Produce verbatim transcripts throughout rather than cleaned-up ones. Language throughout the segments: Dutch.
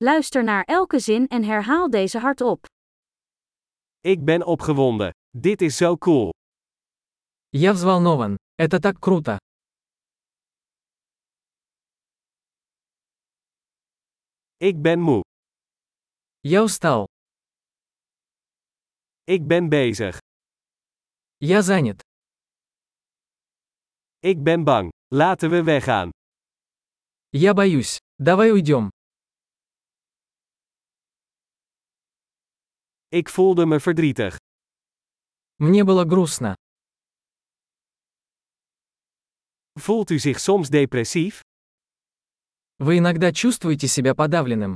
Luister naar elke zin en herhaal deze hardop. Ik ben opgewonden. Dit is zo cool. Я взволнован. Это так круто. Ik ben moe. Я устал. Ik ben bezig. Я занят. Ik ben bang. Laten we weggaan. Я боюсь. Давай уйдем. Ik voelde me verdrietig. Мне было грустно. Voelt u zich soms depressief? Вы иногда чувствуете себя подавленным.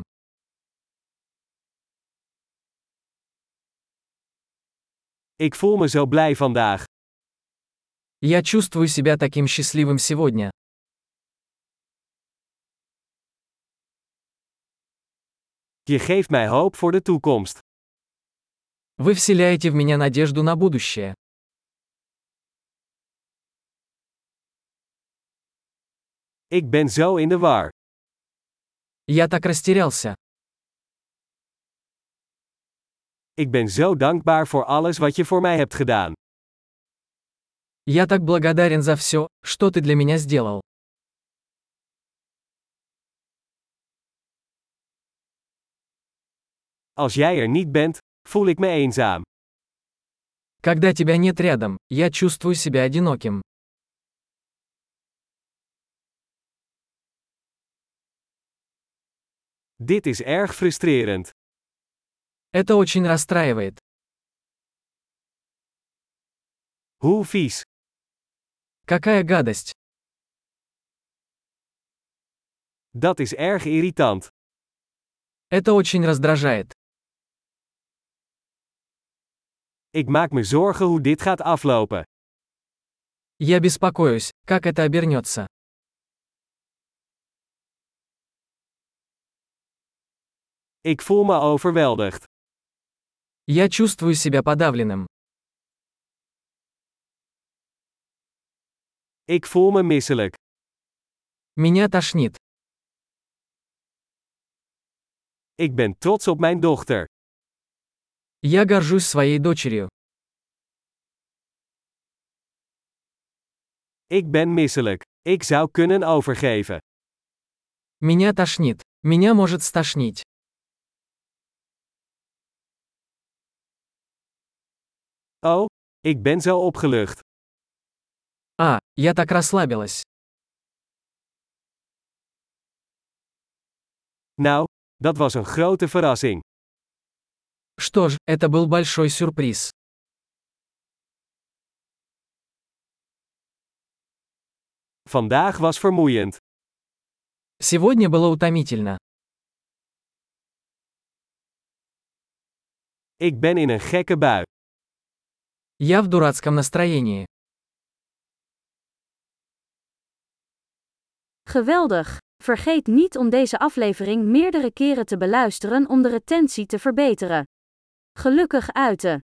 Ik voel me zo blij vandaag. Я чувствую себя таким счастливым сегодня. Je geeft mij hoop voor de toekomst. Вы вселяете в меня надежду на будущее. Ik ben zo in de war. Я так растерялся. Ik ben zo dankbaar voor alles wat je voor mij hebt gedaan. Я так благодарен за все, что ты для меня сделал. Als jij er niet bent, voel ik me eenzaam. Когда тебя нет рядом, я чувствую себя одиноким. Dit is erg frustrerend. Это очень расстраивает. Hoe vies. Какая гадость. Dat is erg irritant. Это очень раздражает. Ik maak me zorgen hoe dit gaat aflopen. Я беспокоюсь, как это обернется. Ik voel me overweldigd. Я чувствую себя подавленным. Ik voel me misselijk. Меня тошнит. Ik ben trots op mijn dochter. Я горжусь своей дочерью. Ik ben misselijk. Ik zou kunnen overgeven. Меня тошнит. Меня может стошнить. Oh, ik ben zo opgelucht. А, я так расслабилась. Nou, dat was een grote verrassing. Что ж, это был большой сюрприз. Vandaag was vermoeiend. Сегодня было утомительно. Ik ben in een gekke bui. Я в дурацком настроении. Geweldig! Vergeet niet om deze aflevering meerdere keren te beluisteren om de retentie te verbeteren. Gelukkig uiten!